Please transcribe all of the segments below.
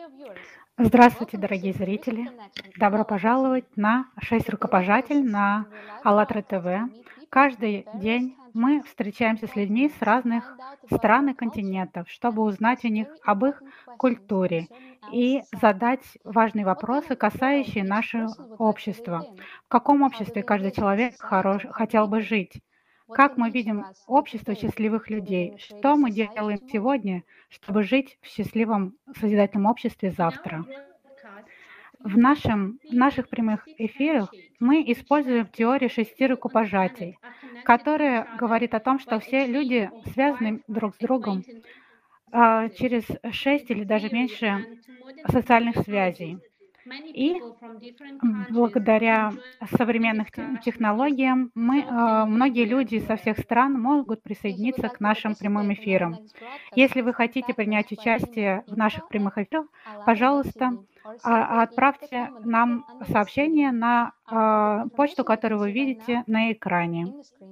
Здравствуйте, дорогие зрители! Добро пожаловать на 6 рукопожатий на АЛЛАТРА ТВ. Каждый день мы встречаемся с людьми с разных стран и континентов, чтобы узнать у них об их культуре и задать важные вопросы, касающие нашего общества. В каком обществе каждый человек хотел бы жить? Как мы видим общество счастливых людей? Что мы делаем сегодня, чтобы жить в счастливом созидательном обществе завтра? В наших прямых эфирах мы используем теорию 6 рукопожатий, которая говорит о том, что все люди связаны друг с другом через 6 или даже меньше социальных связей. И благодаря современным технологиям многие люди со всех стран могут присоединиться к нашим прямым эфирам. Если вы хотите принять участие в наших прямых эфирах, пожалуйста, отправьте нам сообщение на почту, которую вы видите на экране.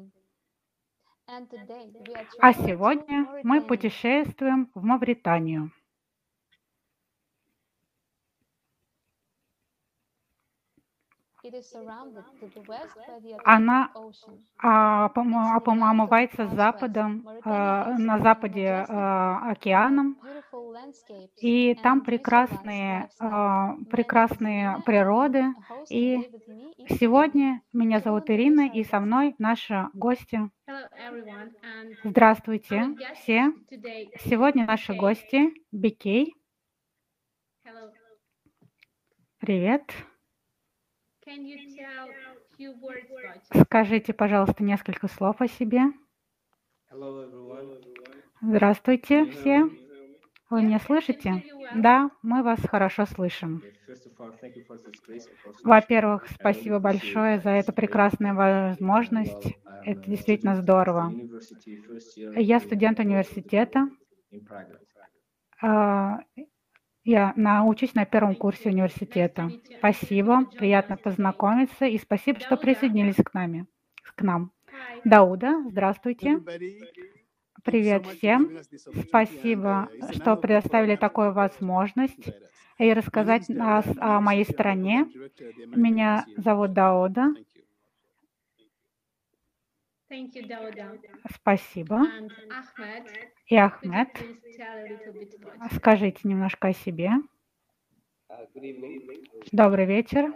А сегодня мы путешествуем в Мавританию. Она омывается на западе океаном, и там прекрасные природы. И сегодня меня зовут Ирина, и со мной наши гости. Здравствуйте все! Сегодня наши гости Бикей. Привет! Скажите, пожалуйста, несколько слов о себе. Здравствуйте все. Вы меня слышите? Да, мы вас хорошо слышим. Во-первых, спасибо большое за эту прекрасную возможность. Это действительно здорово. Я студент университета. Я учусь на первом курсе университета. Спасибо, приятно познакомиться, и спасибо, что присоединились к нам. Дауда, здравствуйте. Привет всем. Спасибо, что предоставили такую возможность и рассказать о моей стране. Меня зовут Дауда. Спасибо. И Ахмед. Скажите немножко о себе. Добрый вечер.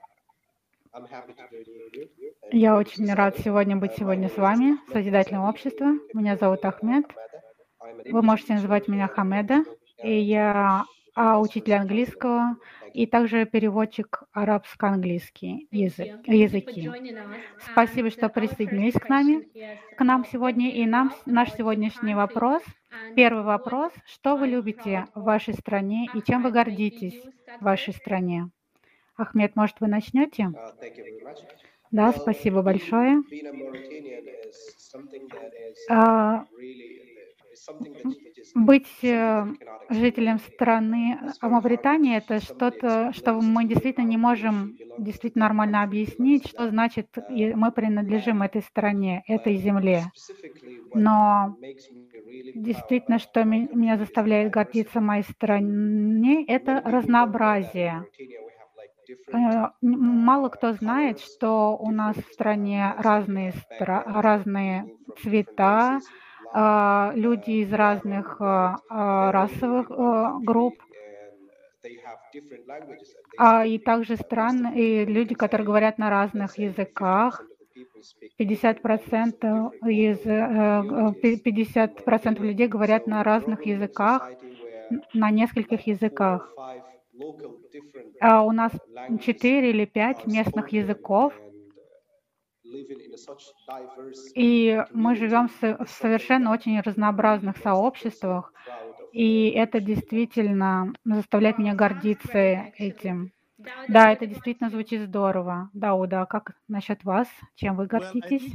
Я очень рад быть сегодня с вами, в Созидательном обществе. Меня зовут Ахмед. Вы можете называть меня Хамеда. И я учитель английского и также переводчик арабско-английский языки. Спасибо, что присоединились к нам сегодня. И наш сегодняшний вопрос. Первый вопрос. Что вы любите в вашей стране и чем вы гордитесь в вашей стране? Ахмед, может, вы начнете? Да, спасибо большое. Быть жителем страны Мавритании — это что-то, что мы действительно не можем нормально объяснить, что значит мы принадлежим этой стране, этой земле. Но действительно, что меня заставляет гордиться моей стране, это разнообразие. Мало кто знает, что у нас в стране разные цвета, люди из разных расовых групп, и также и люди, которые говорят на разных языках. 50% людей говорят на разных языках, на нескольких языках. У нас 4 или 5 местных языков, и мы живем в совершенно очень разнообразных сообществах, и это действительно заставляет меня гордиться этим. Да, это действительно звучит здорово. Дауда, как насчет вас? Чем вы гордитесь?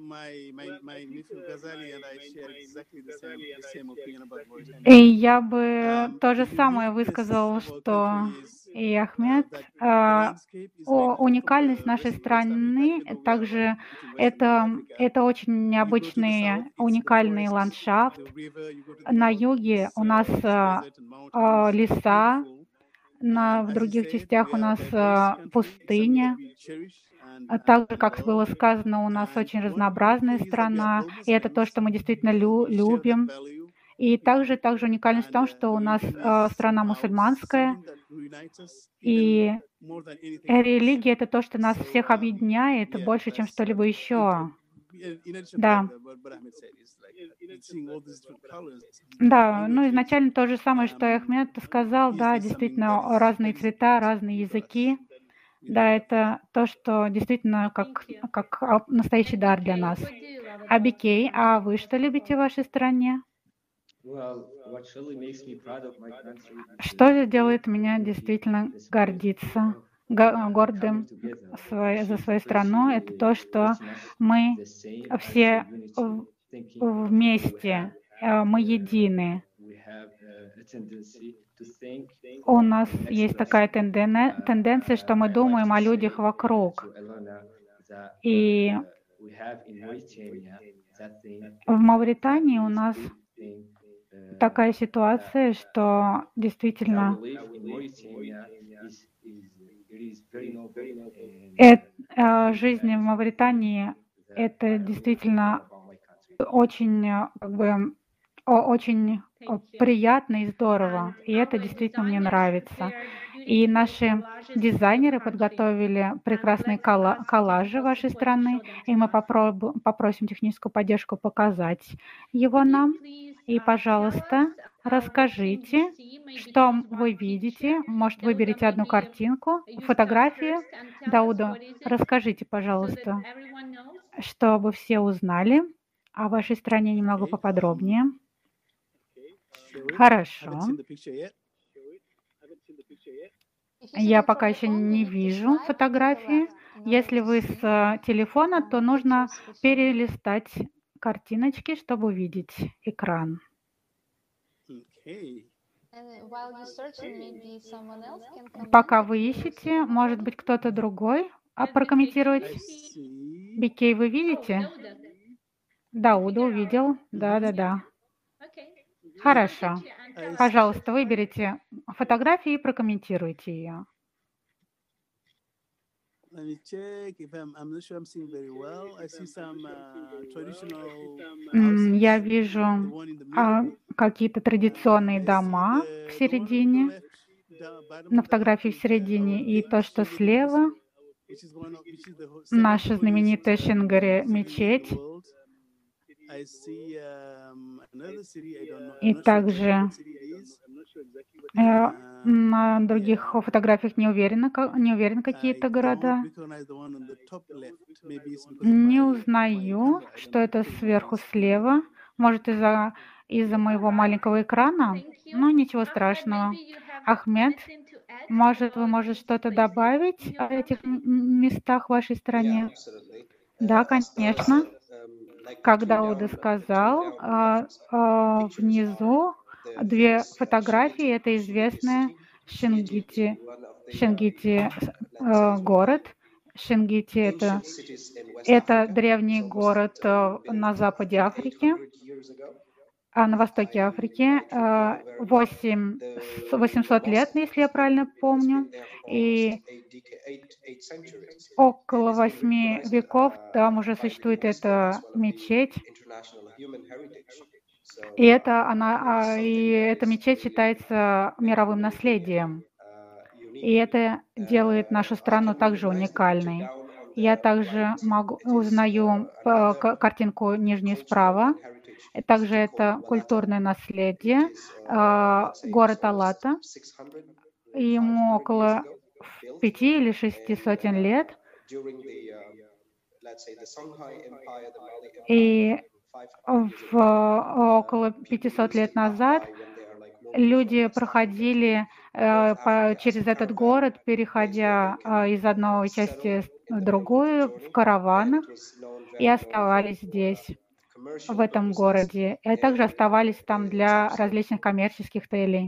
И я бы то же самое высказал, что и Ахмед. Уникальность нашей страны также это очень необычный, уникальный ландшафт. На юге у нас леса, в других частях у нас пустыня. А также, как было сказано, у нас очень разнообразная страна, и это то, что мы действительно любим. И также уникальность в том, что у нас страна мусульманская, и религия — это то, что нас всех объединяет больше, чем что-либо еще. Да. Да, ну изначально то же самое, что и Ахмед сказал, да, действительно разные цвета, разные языки. Да, это то, что действительно как настоящий дар для нас. Абикей, а вы что любите в вашей стране? Что делает меня действительно гордиться, гордым за свою страну? Это то, что мы все вместе, мы едины. У нас есть такая тенденция, что мы думаем о людях вокруг. И в Мавритании у нас такая ситуация, что действительно жизнь в Мавритании — это действительно очень, очень приятно и здорово, и это действительно мне нравится. И наши дизайнеры подготовили прекрасные коллажи вашей страны, и мы попросим техническую поддержку показать его нам. И, пожалуйста, расскажите, что вы видите. Может, выберите одну картинку, фотографию. Дауда, расскажите, пожалуйста, чтобы все узнали о вашей стране немного поподробнее. Хорошо. Я пока еще не вижу фотографии. Если вы с телефона, то нужно перелистать картиночки, чтобы увидеть экран. Пока вы ищете, может быть, кто-то другой прокомментировать. Бикей, вы видите? Дауда увидел. Да. Хорошо. Пожалуйста, выберите фотографию и прокомментируйте ее. Я вижу какие-то традиционные дома в середине, на фотографии в середине, и то, что слева, наша знаменитая Шингари мечеть. И также на других фотографиях не уверен какие-то города. Не узнаю, что это сверху слева. Может, из-за моего маленького экрана? Ну, ничего страшного. Ахмед, может, вы можете что-то добавить о этих местах в вашей стране? Да, конечно. Как Дауда сказал, внизу две фотографии. Это известная Шингити город. Шингити — это древний город на западе Африки, на востоке Африки. 800 лет, если я правильно помню, и около 8 веков там уже существует эта мечеть. И эта мечеть считается мировым наследием. И это делает нашу страну также уникальной. Я также узнаю картинку нижнюю справа. Также это культурное наследие. Город Алата. Ему около 5 или 6 сотен лет. И около 500 лет назад люди проходили через этот город, переходя из одной части в другую, в караванах, и оставались здесь, в этом городе. И также оставались там для различных коммерческих целей.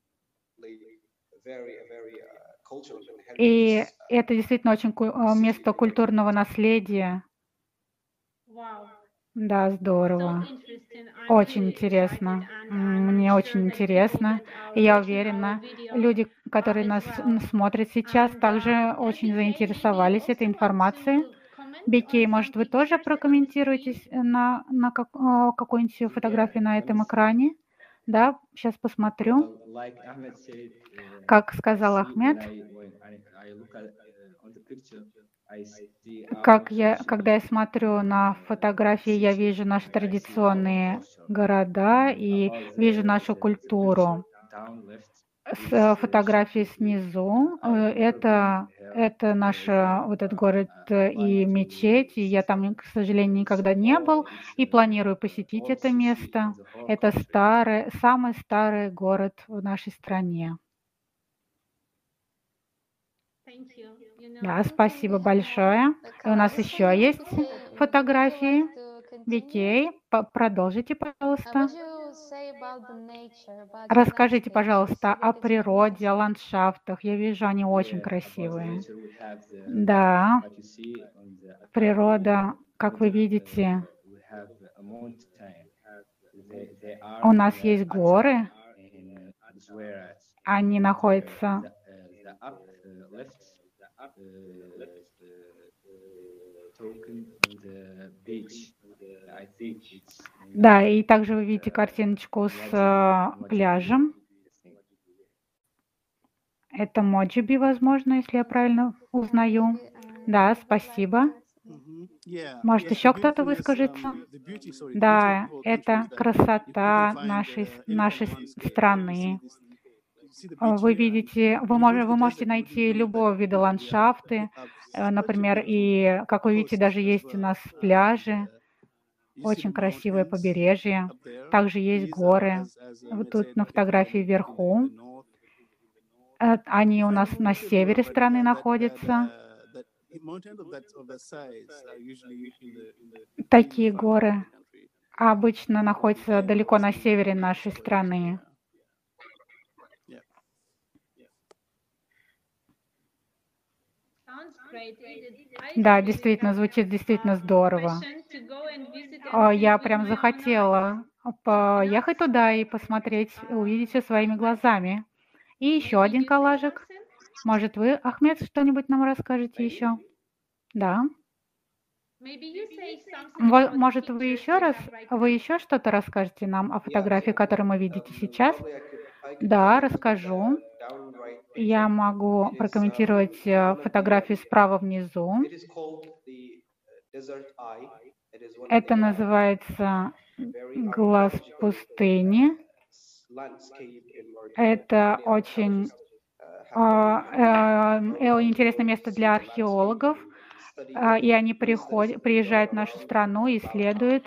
И это действительно очень место культурного наследия. Да, здорово. Очень интересно. Мне очень интересно. И я уверена, люди, которые нас смотрят сейчас, также очень заинтересовались этой информацией. Бекей, может, вы тоже прокомментируете на какую-нибудь фотографию на этом экране? Да, сейчас посмотрю. Well, like Ahmed said, Как I сказал see when Ахмед, I look at on the picture, I see our когда я traditional смотрю на фотографии, я city вижу наши and I see our традиционные culture. города And и about вижу нашу the picture культуру. down left С is фотографии Shafiki. снизу I never been here. это наш вот этот город I и plan to мечеть, и я там, к сожалению, никогда see не был, this и планирую посетить old это city in место. the whole Это country. самый старый город в нашей стране. Да, спасибо большое. И у нас еще есть фотографии. Викей, продолжите, пожалуйста. Расскажите, пожалуйста, о природе, о ландшафтах. Я вижу, они очень Yeah, about the красивые. nature, we have Да, what you see on the природа, как вы middle. видите, We have a mountain. They are у in нас the есть at горы, in where они находятся. the up left token on the beach. I think it's Да, и также вы видите картиночку с Mojibwe, пляжем. I think. Это Моджиби, возможно, если я правильно узнаю. Да, спасибо. Может, еще кто-то выскажется? Да, это красота нашей страны. Вы видите, вы можете найти любого вида ландшафты, например, и, как вы видите, даже есть у нас пляжи, очень красивое побережье, также есть горы. Вот тут на фотографии вверху. Они у нас на севере страны находятся. Такие горы обычно находятся далеко на севере нашей страны. Да, действительно, звучит действительно здорово. Я прям захотела поехать туда и посмотреть, увидеть все своими глазами. И еще один коллажик. Может, вы, Ахмед, что-нибудь нам расскажете еще? Да. Может, вы еще что-то расскажете нам о фотографии, которую мы видите сейчас? Да, расскажу. Я могу прокомментировать фотографию справа внизу. Это называется глаз пустыни. Это очень интересное место для археологов, и они приезжают в нашу страну, исследуют.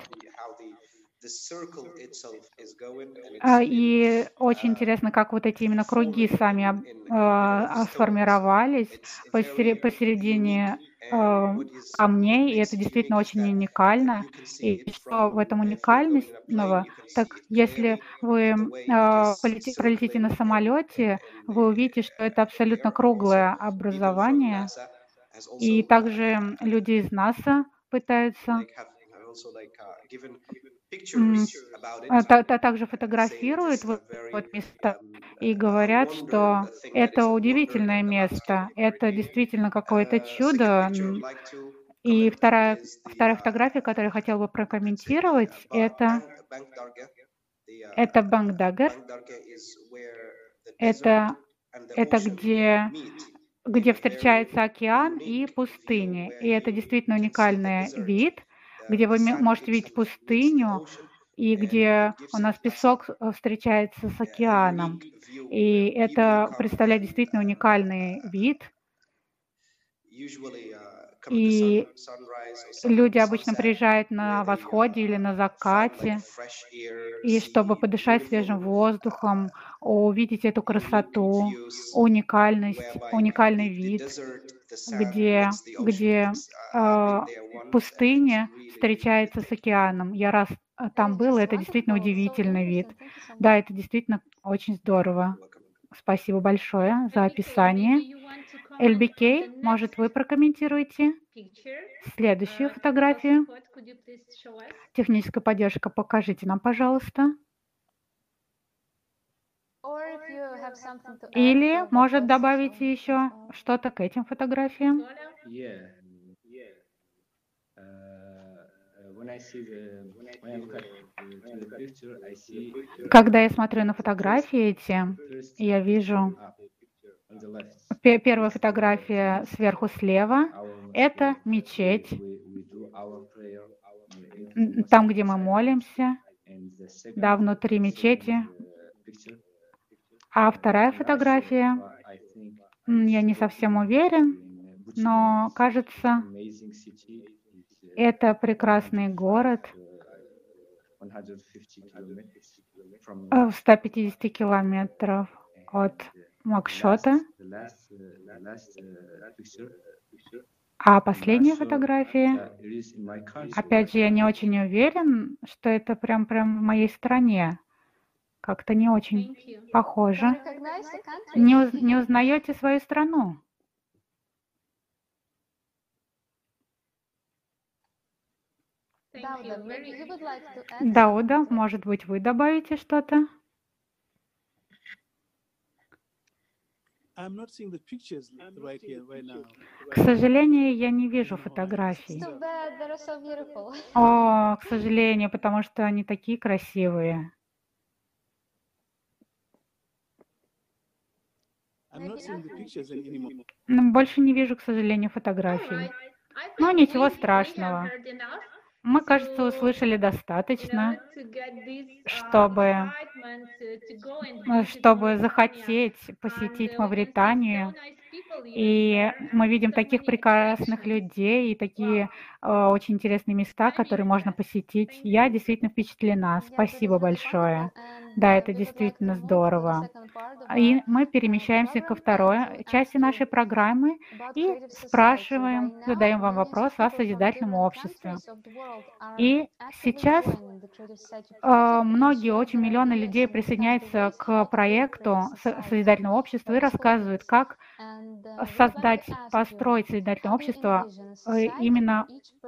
И очень интересно, как вот эти именно круги сами сформировались посередине камней, и это действительно очень уникально. И что в этом уникального? Так если вы пролетите на самолете, вы увидите, что это абсолютно круглое образование. И также люди из НАСА пытаются также фотографируют вот места и говорят, что это удивительное место, это действительно какое-то чудо. И вторая фотография, которую я хотела бы прокомментировать, это Бангдагер. Это где встречается океан и пустыни. И это действительно уникальный вид, где вы можете видеть пустыню, и где у нас песок встречается с океаном. И это представляет действительно уникальный вид. И люди обычно приезжают на восходе или на закате, и чтобы подышать свежим воздухом, увидеть эту красоту, уникальный вид, где пустыня встречается с океаном. Я раз там был, это действительно удивительный вид. Да, это действительно очень здорово. Спасибо большое за описание. LBK, может, вы прокомментируете Следующую фотографию. Техническая поддержка, покажите нам, пожалуйста. Или, может, добавите еще что-то к этим фотографиям? Yeah. When I look at to the picture, I see Когда я смотрю на фотографии эти, first я вижу up on the left. первая фотография сверху слева. Our mosque, Это мечеть, we do our prayer into the там, mosque где мы inside. молимся, And the да, second внутри мечети. picture, А вторая I'm not sure, фотография, but I think я не совсем уверен, in Bucharest. но кажется, Amazing city. It's это прекрасный город 150 kilometers from в 150 километров от Нуакшота. the last picture. А последняя фотография, It is in my country. опять же, я не очень уверен, что это прям в моей стране. Как-то не очень похоже. Не узнаете свою страну? Дауда, может быть, вы добавите что-то? К сожалению, я не вижу фотографий. О, к сожалению, потому что они такие красивые. Но больше не вижу, к сожалению, фотографий. Но ничего страшного. Мы, кажется, услышали достаточно, чтобы захотеть посетить Мавританию. И мы видим таких прекрасных людей и такие очень интересные места, которые можно посетить. Я действительно впечатлена. Спасибо большое. Да, это действительно здорово. И мы перемещаемся ко второй части нашей программы и спрашиваем, задаем вам вопрос о созидательном обществе. И сейчас очень миллионы людей присоединяются к проекту созидательного общества и рассказывают, как построить созидательное общество именно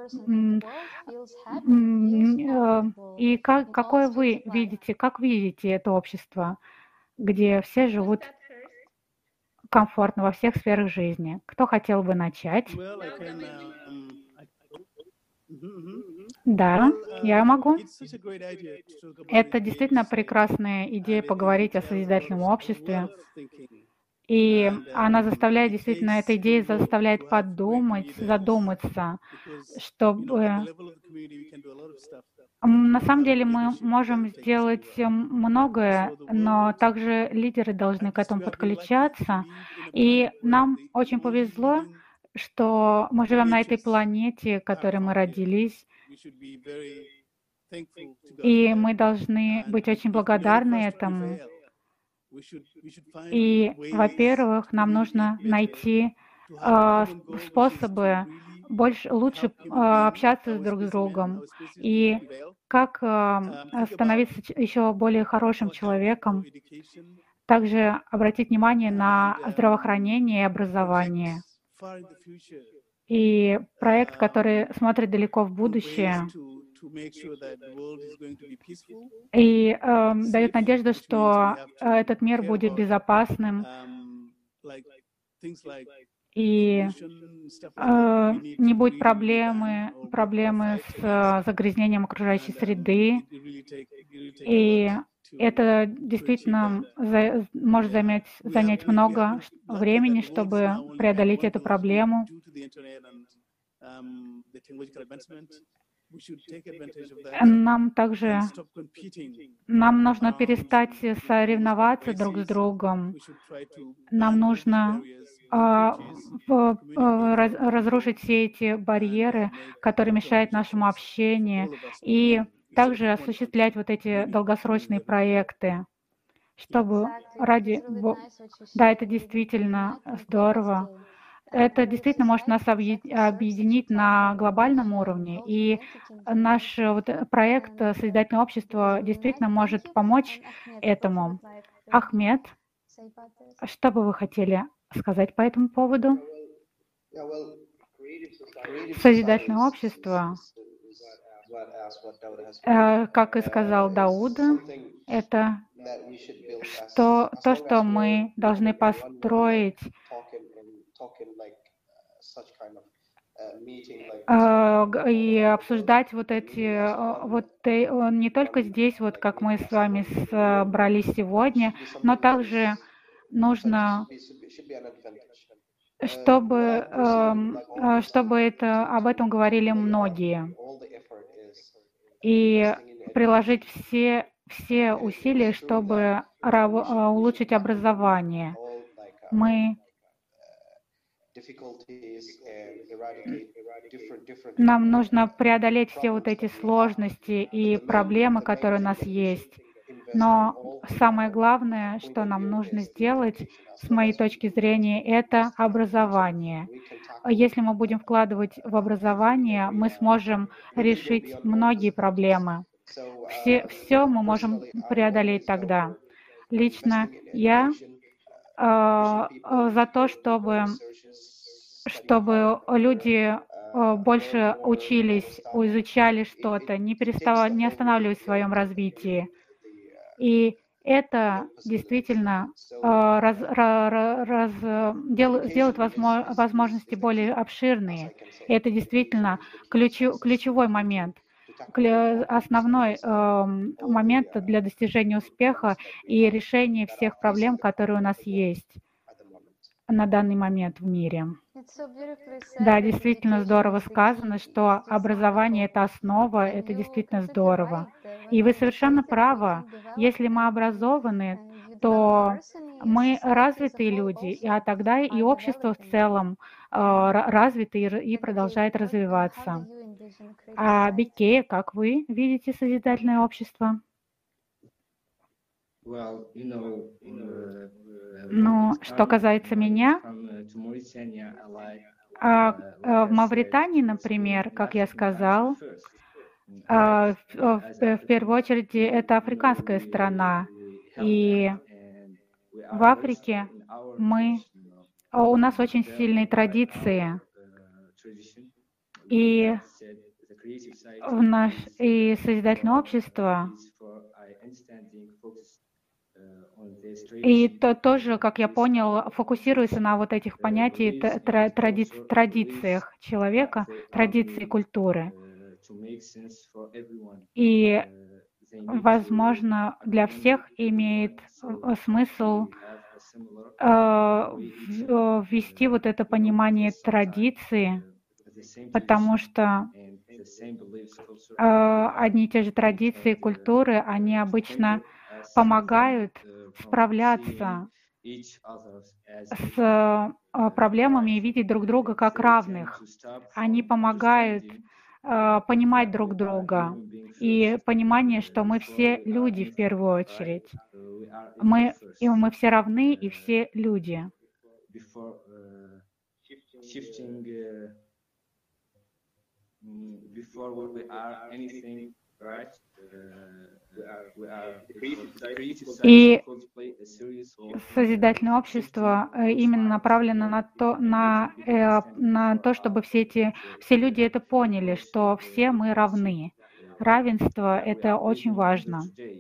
и какое вы видите, как видите это общество, где все живут комфортно во всех сферах жизни. Кто хотел бы начать? Да, я могу. Это действительно прекрасная идея поговорить о созидательном обществе. И она заставляет, действительно, эта идея заставляет подумать, задуматься, чтобы... На самом деле мы можем сделать многое, но также лидеры должны к этому подключаться. И нам очень повезло, что мы живем на этой планете, в которой мы родились, и мы должны быть очень благодарны этому. И, во-первых, нам нужно найти способы лучше общаться друг с другом и как становиться еще более хорошим человеком. Также обратить внимание на здравоохранение и образование. И проект, который смотрит далеко в будущее и дает надежду, что этот мир будет безопасным и не будет проблемы с загрязнением окружающей среды. И это действительно может занять много времени, чтобы преодолеть эту проблему. Нам нужно перестать соревноваться друг с другом. Нам нужно разрушить все эти барьеры, которые мешают нашему общению, и также осуществлять вот эти долгосрочные проекты, чтобы Да, это действительно здорово. Это действительно может нас объединить на глобальном уровне. И наш проект «Созидательное общество» действительно может помочь этому. Ахмед, что бы вы хотели сказать по этому поводу? Созидательное общество, как и сказал Дауд, это то, что мы должны построить и обсуждать вот эти, не только здесь, вот как мы с вами собрались сегодня, но также нужно, чтобы об этом говорили многие, и приложить все усилия, чтобы улучшить образование. Нам нужно преодолеть все вот эти сложности и проблемы, которые у нас есть. Но самое главное, что нам нужно сделать, с моей точки зрения, это образование. Если мы будем вкладывать в образование, мы сможем решить многие проблемы. Все мы можем преодолеть тогда. Лично я за то, чтобы люди больше учились, изучали что-то, не останавливались в своем развитии. И это действительно делает возможности более обширные. И это действительно ключевой момент, основной момент для достижения успеха и решения всех проблем, которые у нас есть на данный момент в мире. Да, действительно здорово сказано, что образование – это основа, это действительно здорово. И вы совершенно правы. Если мы образованы, то мы развитые люди, а тогда и общество в целом развито и продолжает развиваться. А Бекея, как вы видите созидательное общество? Ну, что касается меня, в Мавритании, например, как я сказал, в первую очередь это африканская страна. И в Африке у нас очень сильные традиции. И созидательное общество, и тоже, как я понял, фокусируется на вот этих понятиях, традициях человека, традиции культуры. И, возможно, для всех имеет смысл ввести вот это понимание традиции, потому что одни и те же традиции, культуры, они обычно помогают справляться с проблемами и видеть друг друга как равных. Они помогают понимать друг друга и понимание, что мы все люди в первую очередь. Мы все равны и все люди. И созидательное общество именно направлено на то, чтобы все люди это поняли, что все мы равны. Равенство – это очень важно.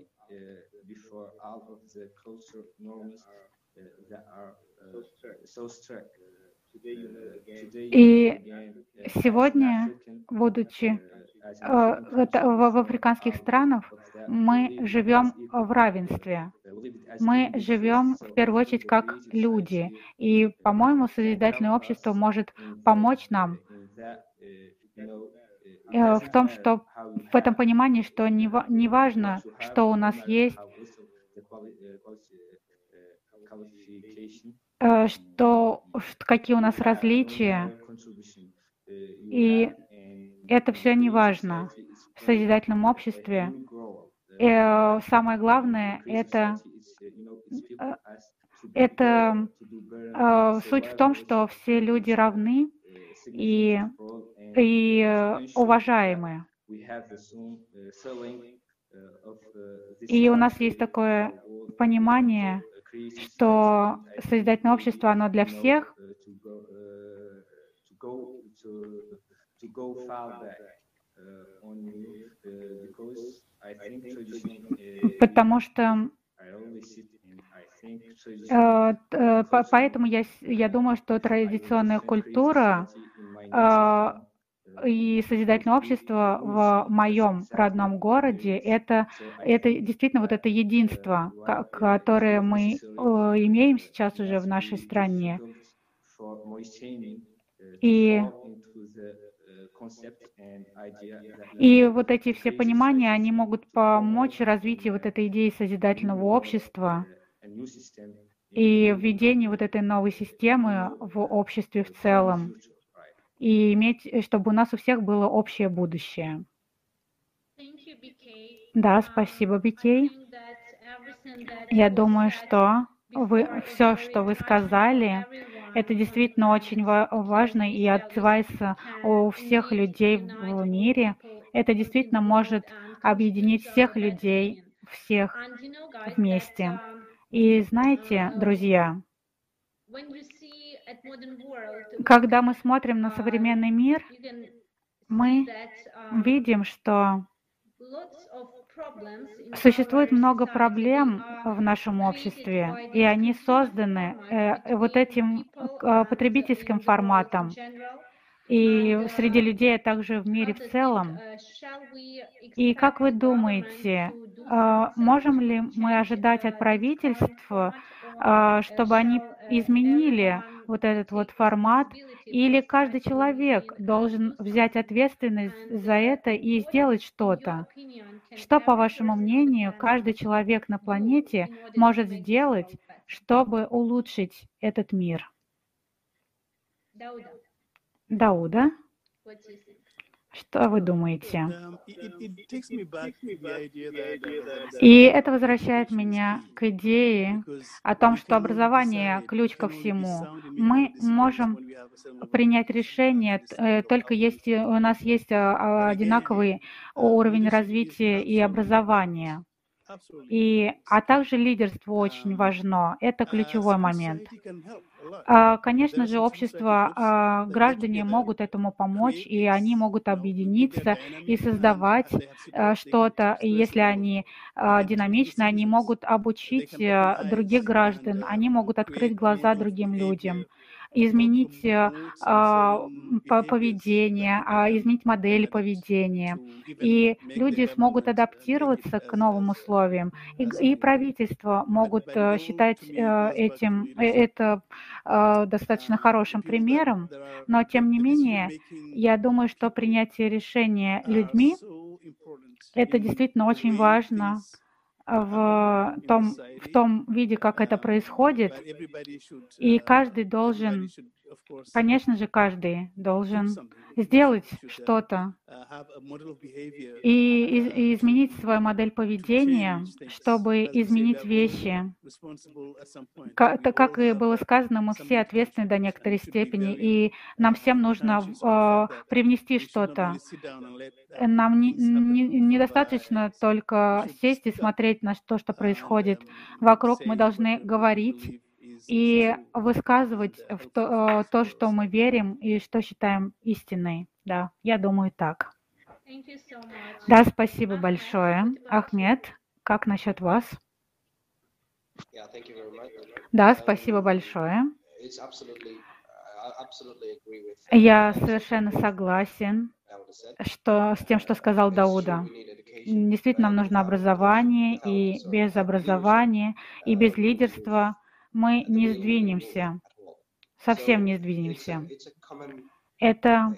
И сегодня, будучи в африканских странах, мы живем в равенстве. Мы живем в первую очередь как люди. И, по-моему, созидательное общество может помочь нам в том, что в этом понимании, что не важно, что у нас есть, какие у нас различия, и это все не важно. В созидательном обществе самое главное – это суть в том, что все люди равны и уважаемы. И у нас есть такое понимание, что созидательное общество, оно для всех, go far back on you because I think tradition. Потому что I always sit and I think tradition поэтому я думаю, что традиционная different культура creativity in my а, native и созидательное общество в моем родном городе, это действительно вот это единство, которое мы имеем сейчас уже в нашей стране. И вот эти все понимания, они могут помочь развитию вот этой идеи созидательного общества и введению вот этой новой системы в обществе в целом, и чтобы у нас у всех было общее будущее. Да, спасибо, Бикей. Я думаю, что все, что вы сказали, это действительно очень важно и отзывается у всех людей в мире. Это действительно может объединить всех людей, всех вместе. И знаете, друзья, когда мы смотрим на современный мир, мы видим, что существует много проблем в нашем обществе, и они созданы вот этим потребительским форматом. И среди людей, а также в мире в целом. И как вы думаете, можем ли мы ожидать от правительства, чтобы они изменили вот этот вот формат, или каждый человек должен взять ответственность за это и сделать что-то? Что, по вашему мнению, каждый человек на планете может сделать, чтобы улучшить этот мир? Дауда, что вы думаете? И это возвращает меня к идее о том, что образование – ключ ко всему. Мы можем принять решение только если у нас есть одинаковый уровень развития и образования. А также лидерство очень важно. Это ключевой момент. Конечно же, общество, граждане могут этому помочь, и они могут объединиться и создавать что-то. И если они динамичны, они могут обучить других граждан, они могут открыть глаза другим людям, изменить поведение, изменить модели поведения. И люди смогут адаптироваться к новым условиям. И правительства могут считать это достаточно хорошим примером, но тем не менее, я думаю, что принятие решения людьми – это действительно очень важно в том виде, как это происходит, и каждый должен, конечно же, каждый должен сделать что-то и изменить свою модель поведения, чтобы изменить вещи. Как и было сказано, мы все ответственны до некоторой степени, и нам всем нужно привнести что-то. Нам недостаточно только сесть и смотреть на то, что происходит вокруг. Мы должны говорить и высказывать то, что мы верим и что считаем истиной. Да, я думаю так. Да, спасибо большое. Ахмед, как насчет вас? Да, спасибо большое. Я совершенно согласен с тем, что сказал Дауда. Действительно, нам нужно образование, и без образования, и без лидерства мы не сдвинемся, совсем не сдвинемся. Это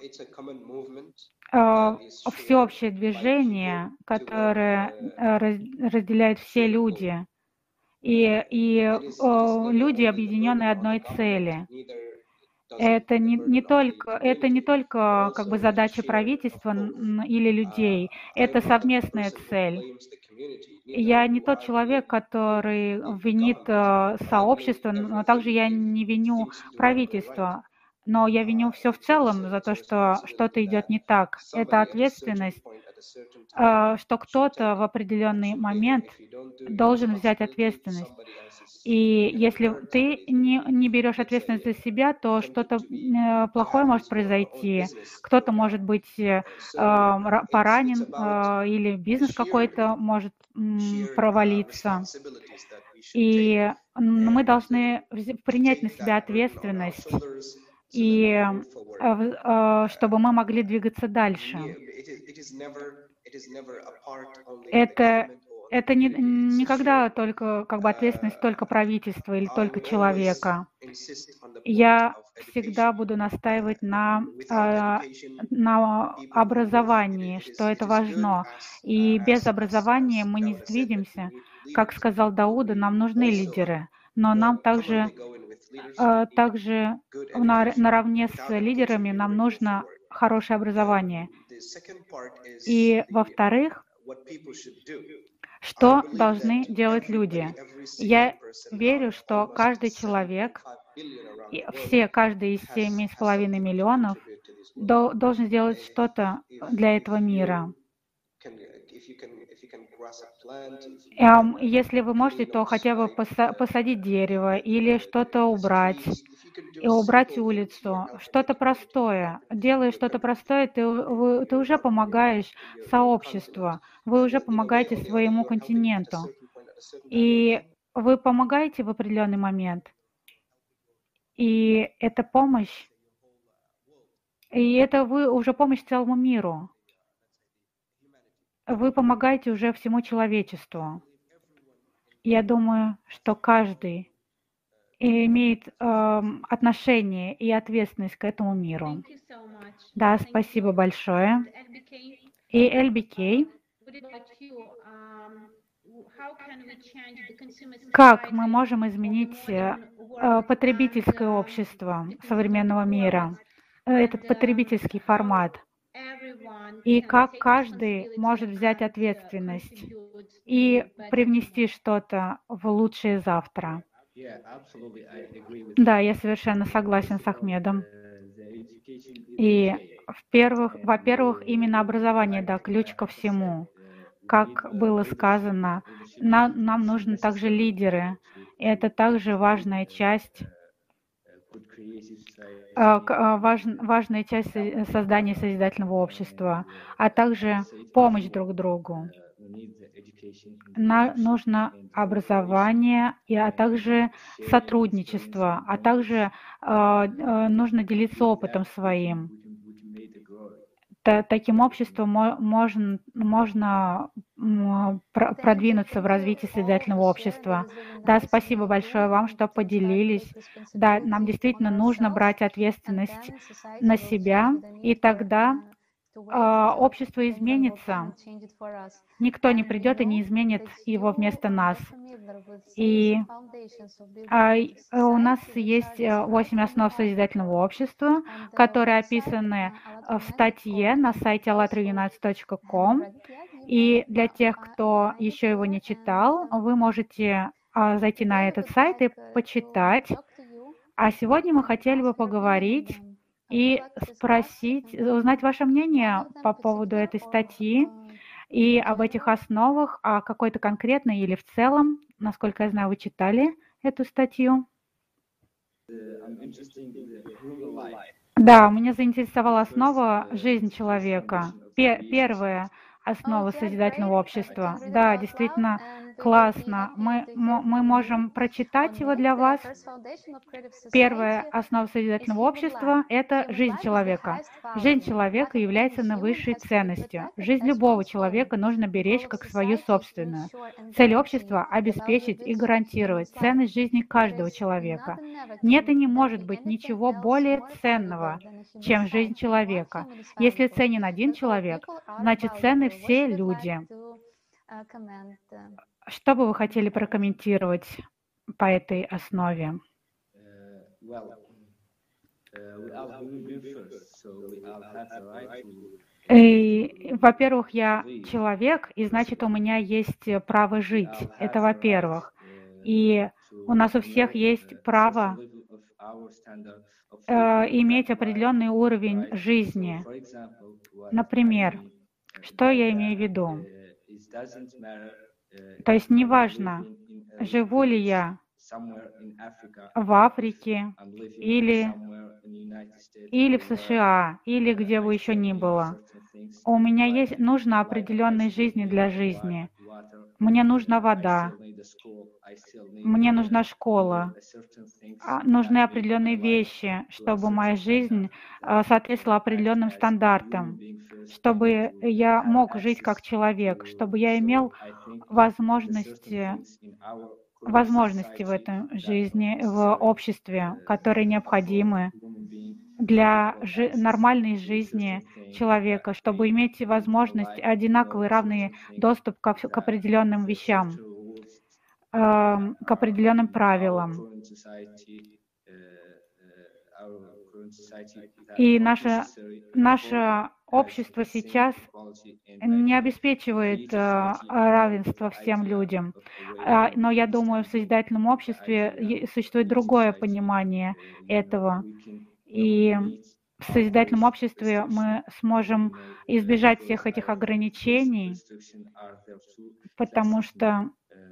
всеобщее движение, которое разделяет все люди, и люди, объединенные одной цели. Это не только как бы задача правительства или людей, это совместная цель. Я не тот человек, который винит сообщество, но также я не виню правительство. но я виню все в целом за то, что что-то идет не так. Это ответственность, что кто-то в определенный момент должен взять ответственность. И если ты не берешь ответственность за себя, то что-то плохое может произойти. Кто-то может быть поранен, или бизнес какой-то может провалиться. И мы должны принять на себя ответственность, и чтобы мы могли двигаться дальше. Это, это никогда только как бы ответственность только правительства или только человека. Я всегда буду настаивать на образовании, что это важно. И без образования мы не сдвинемся. Как сказал Дауда, нам нужны лидеры, но нам также наравне с лидерами нам нужно хорошее образование. И, во-вторых, что должны делать люди? Я верю, что каждый человек, каждый из 7,5 миллионов должен сделать что-то для этого мира. Если вы можете, то хотя бы посадить дерево или что-то убрать, и убрать улицу. Что-то простое. Делая что-то простое, ты уже помогаешь сообществу, вы уже помогаете своему континенту. И вы помогаете в определенный момент. И это помощь. И это вы уже помощь целому миру. Вы помогаете уже всему человечеству. Я думаю, что каждый имеет отношение и ответственность к этому миру. Да, спасибо большое. И LBK, как мы можем изменить потребительское общество современного мира, этот потребительский формат, и как каждый может взять ответственность и привнести что-то в лучшее завтра. Да, я совершенно согласен с Ахмедом. И во-первых, именно образование, да, ключ ко всему. Как было сказано, нам нужны также лидеры. И это также важная часть создания созидательного общества, а также помощь друг другу. Нужно образование, а также сотрудничество, а также нужно делиться опытом своим. Таким обществом можно продвинуться в развитии созидательного общества. Да, спасибо большое вам, что поделились. Да, нам действительно нужно брать ответственность на себя, и тогда общество изменится. Никто не придет и не изменит его вместо нас. И у нас есть 8 основ созидательного общества, которые описаны в статье на сайте allatraunites.com. И для тех, кто еще его не читал, вы можете зайти на этот сайт и почитать. А сегодня мы хотели бы поговорить и узнать ваше мнение по поводу этой статьи и об этих основах, а какой-то конкретной или в целом. Насколько я знаю, вы читали эту статью. Да, меня заинтересовала основа «Жизнь человека». Первая основа созидательного общества. Да, действительно классно. Мы можем прочитать его для вас. Первая основа созидательного общества – это жизнь человека. Жизнь человека является наивысшей ценностью. Жизнь любого человека нужно беречь как свою собственную. Цель общества – обеспечить и гарантировать ценность жизни каждого человека. Нет и не может быть ничего более ценного, чем жизнь человека. Если ценен один человек, значит ценны все люди. Что бы вы хотели прокомментировать по этой основе? Во-первых, я человек, и значит, у меня есть право жить. Это во-первых. И у нас у всех есть право иметь определенный уровень жизни. Например, что я имею в виду? То есть неважно, живу ли я в Африке или в США, или где бы еще ни было. У меня нужно определенной жизни для жизни. Мне нужна вода, мне нужна школа, нужны определенные вещи, чтобы моя жизнь соответствовала определенным стандартам, чтобы я мог жить как человек, чтобы я имел возможности в этой жизни, в обществе, которые необходимы для нормальной жизни человека, чтобы иметь возможность, одинаковый, равный доступ к определенным вещам, к определенным правилам. И наше общество сейчас не обеспечивает равенство всем людям. Но я думаю, в созидательном обществе существует другое понимание этого. И в созидательном обществе мы сможем избежать всех этих ограничений, потому что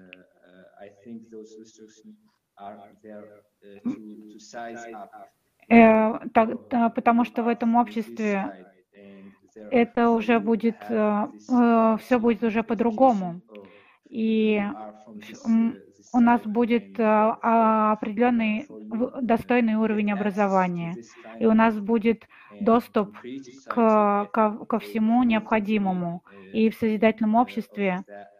в этом обществе это уже будет, все будет уже по-другому. И у нас будет определенный достойный уровень образования, и у нас будет доступ ко всему необходимому. И в созидательном обществе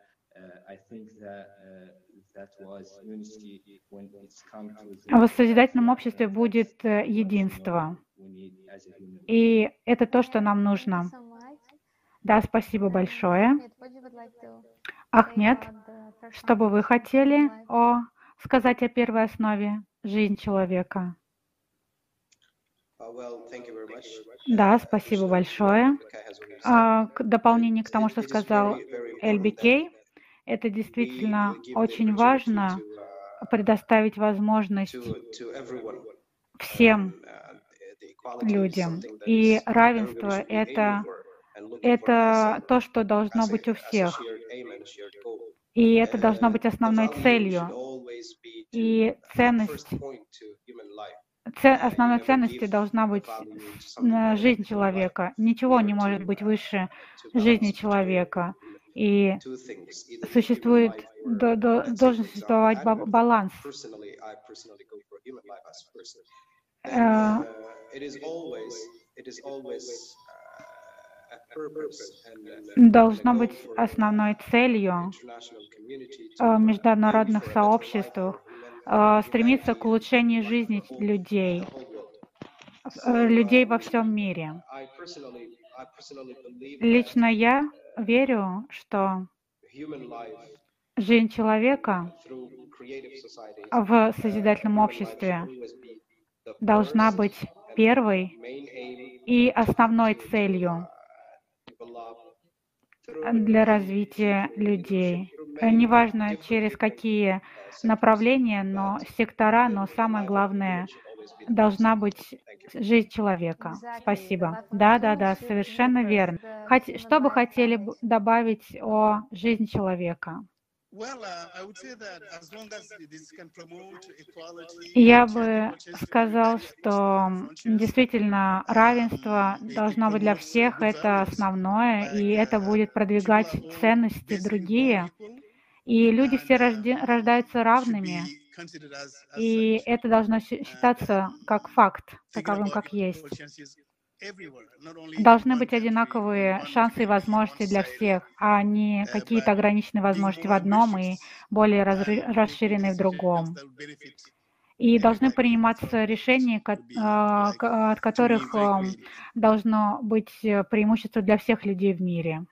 будет единство. И это то, что нам нужно. Да, спасибо большое. Ахмед, что бы вы хотели сказать о первой основе жизни человека? Да, спасибо большое. К дополнению к тому, что сказал LBK, это действительно очень важно предоставить возможность всем людям. И равенство — это то, что должно быть у всех. И это должно быть основной целью. И основной ценностью должна быть жизнь человека. Ничего не может быть выше жизни человека. И должен существовать баланс. Должно быть основной целью международных сообществ стремиться к улучшению жизни людей во всем мире. Лично я верю, что жизнь человека в созидательном обществе должна быть первой и основной целью для развития людей. Неважно, через какие направления, но сектора, но самое главное, должна быть жизнь человека. Спасибо. Да, совершенно верно. Что бы хотели добавить о жизни человека? Я бы сказал, что действительно равенство должно быть для всех, это основное, и это будет продвигать ценности другие. И люди все рождаются равными, и это должно считаться как факт, таковым, как есть. Должны быть одинаковые шансы и возможности для всех, а не какие-то ограниченные возможности в одном и более расширенные в другом. И должны приниматься решения, от которых должно быть преимущество для всех людей в мире.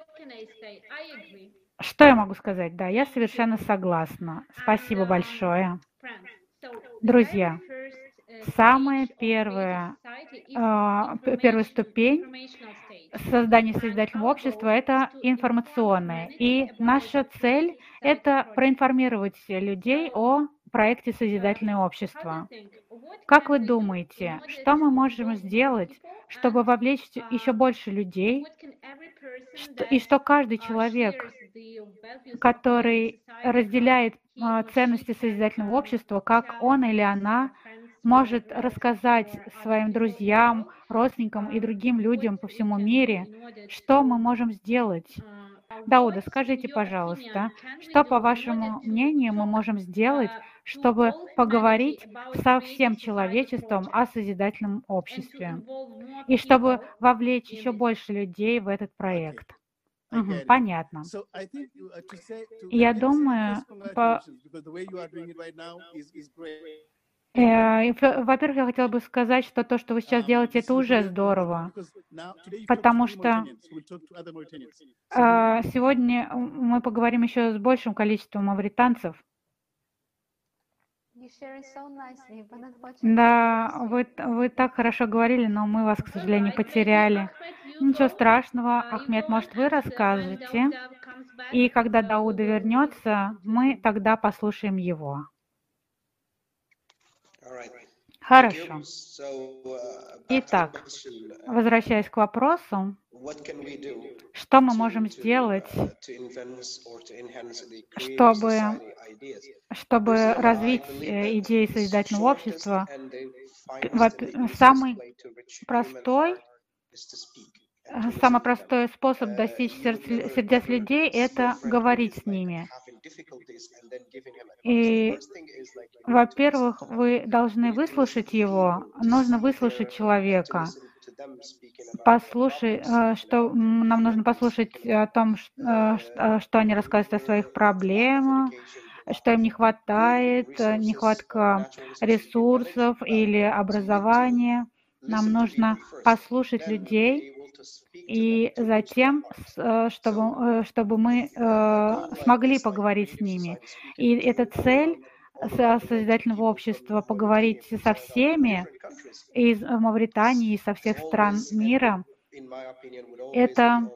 Что я могу сказать? Да, я совершенно согласна. Спасибо большое. Друзья, самая первая ступень создания созидательного общества — это информационная. И наша цель — это проинформировать людей о проекте «Созидательное общество». Как вы думаете, что мы можем сделать, чтобы вовлечь еще больше людей, и что каждый человек, который разделяет ценности созидательного общества, как он или она может рассказать своим друзьям, родственникам и другим людям по всему мире, что мы можем сделать? Дауда, скажите, пожалуйста, что, по вашему мнению, мы можем сделать, чтобы поговорить со всем человечеством о созидательном обществе, и чтобы вовлечь еще больше людей в этот проект? Понятно. Я думаю, во-первых, я хотела бы сказать, что то, что вы сейчас делаете, это уже здорово, потому что сегодня мы поговорим еще с большим количеством мавританцев. Да, вы так хорошо говорили, но мы вас, к сожалению, потеряли. Ничего страшного, Ахмед, может, вы расскажете? И когда Дауда вернется, мы тогда послушаем его. Хорошо. Итак, возвращаясь к вопросу, что мы можем сделать, чтобы развить идеи созидательного общества? Самый простой способ достичь сердец людей – это говорить с ними. И, во-первых, вы должны выслушать его, нужно выслушать человека. Нам нужно послушать о том, что они рассказывают о своих проблемах, что им не хватает, нехватка ресурсов или образования. Нам нужно послушать людей, и затем, чтобы мы смогли поговорить с ними. И эта цель созидательного общества — поговорить со всеми из Мавритании, со всех стран мира. Это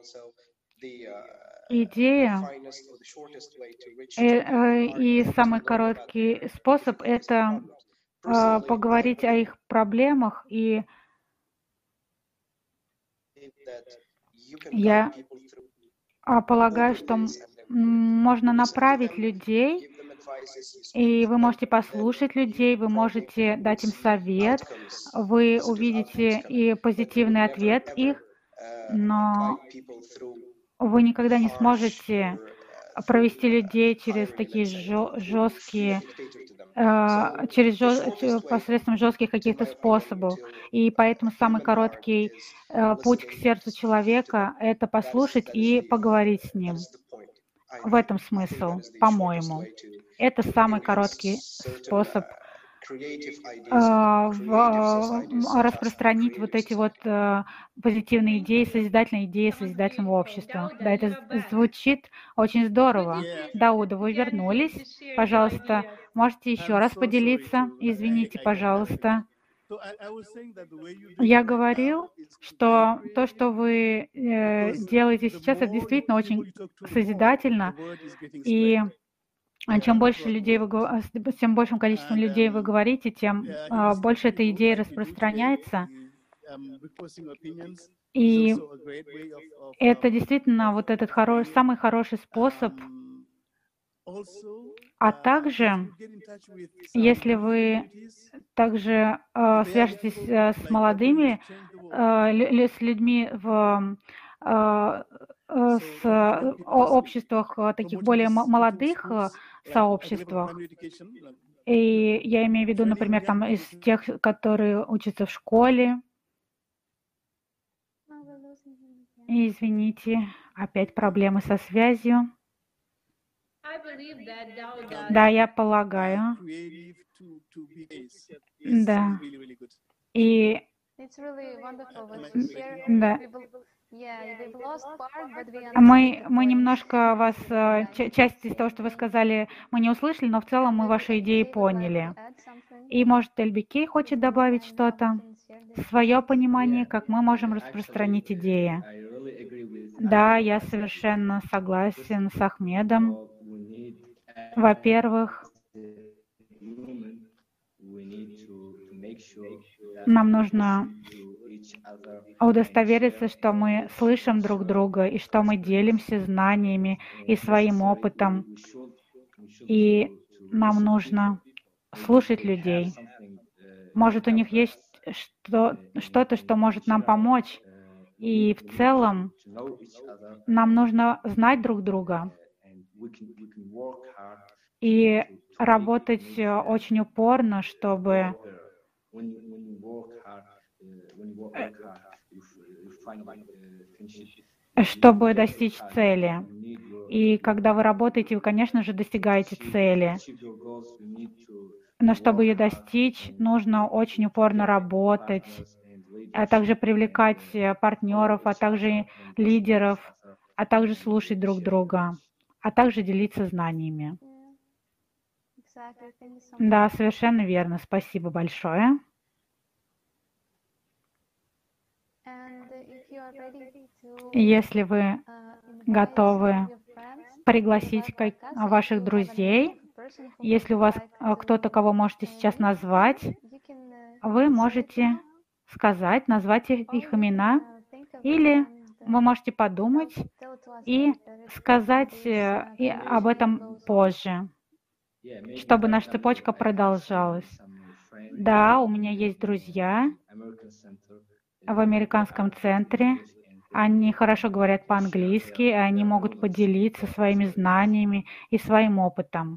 идея, и самый короткий способ — это поговорить о их проблемах. И я полагаю, что можно направить людей, и вы можете послушать людей, вы можете дать им совет, вы увидите и позитивный ответ их, но вы никогда не сможете провести людей через такие жесткие, посредством жестких каких-то способов. И поэтому самый короткий путь к сердцу человека — это послушать и поговорить с ним. В этом смысл, по-моему. Это самый короткий способ распространить вот эти вот позитивные идеи, созидательные идеи созидательного общества. Да, это звучит очень здорово. Дауда, вы вернулись. Пожалуйста, можете еще раз поделиться? Извините, пожалуйста. Я говорил, что то, что вы делаете сейчас, это действительно очень созидательно. И чем больше людей с тем большим количеством людей вы говорите, тем больше эта идея распространяется. И это действительно вот этот самый хороший способ. А также, если вы также свяжетесь с молодыми, с людьми в обществах, таких более молодых сообществах, и я имею в виду, например, там из тех, которые учатся в школе. Извините, опять проблемы со связью. Да, я полагаю. Да. И да. Мы немножко вас, часть из того, что вы сказали, мы не услышали, но в целом мы ваши идеи поняли. И, может, Эльбикей хочет добавить что-то, свое понимание, как мы можем распространить идеи. Да, я совершенно согласен с Ахмедом. Во-первых, Нам нужно to each other удостовериться, что мы слышим друг друга и что мы делимся знаниями и своим опытом. И нам нужно слушать людей. Может, у них есть что-то, что может нам помочь. И в целом нам нужно знать друг друга и работать очень упорно, чтобы достичь цели. И когда вы работаете, вы, конечно же, достигаете цели. Но чтобы ее достичь, нужно очень упорно работать, а также привлекать партнеров, а также лидеров, а также слушать друг друга, а также делиться знаниями. Да, совершенно верно. Спасибо большое. Если вы готовы пригласить ваших друзей, если у вас кто-то, кого можете сейчас назвать, вы можете назвать их имена, или вы можете подумать и сказать об этом позже, чтобы наша цепочка продолжалась. Да, у меня есть друзья в американском центре. Они хорошо говорят по-английски, и они могут поделиться своими знаниями и своим опытом.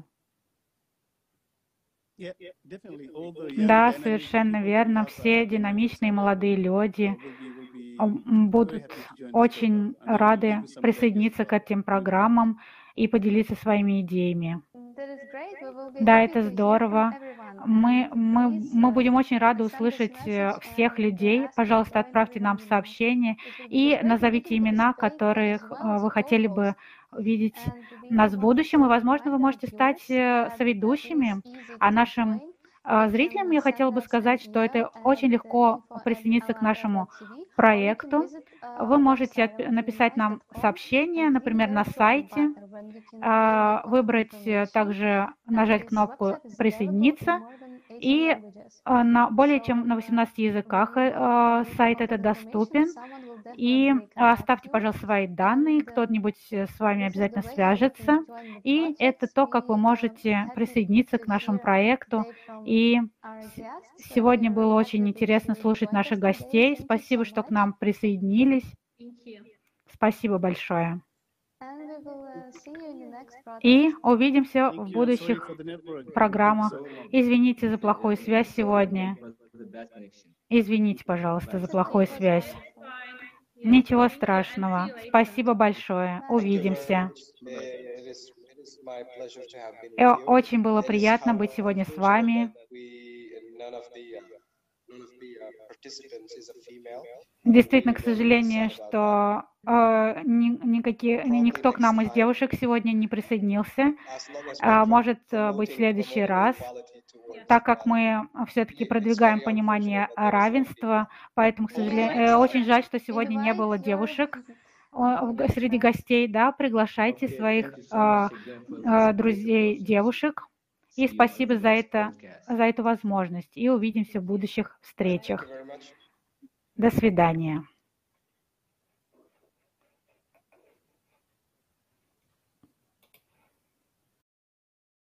Да, совершенно верно. Все динамичные молодые люди будут очень рады присоединиться к этим программам и поделиться своими идеями. Да, это здорово. Мы будем очень рады услышать всех людей. Пожалуйста, отправьте нам сообщение и назовите имена, которых вы хотели бы видеть нас в будущем. И, возможно, вы можете стать соведущими. А нашим зрителям я хотела бы сказать, что это очень легко присоединиться к нашему проекту. Вы можете написать нам сообщение, например, на сайте, выбрать также, нажать кнопку «Присоединиться», и более чем на 18 языках сайт этот доступен. И оставьте, пожалуйста, свои данные, кто-нибудь с вами обязательно свяжется. И это то, как вы можете присоединиться к нашему проекту. И сегодня было очень интересно слушать наших гостей. Спасибо, что к нам присоединились. Спасибо большое. И увидимся в будущих программах. Извините за плохую связь сегодня. Извините, пожалуйста, за плохую связь. Ничего страшного. Спасибо большое. Увидимся. Очень было приятно быть сегодня с вами. Действительно, к сожалению, что никто к нам из девушек сегодня не присоединился. Может быть, в следующий раз, так как мы все-таки продвигаем понимание равенства, поэтому, к сожалению, очень жаль, что сегодня не было девушек среди гостей. Да, приглашайте своих друзей девушек. И спасибо за эту возможность. И увидимся в будущих встречах. До свидания.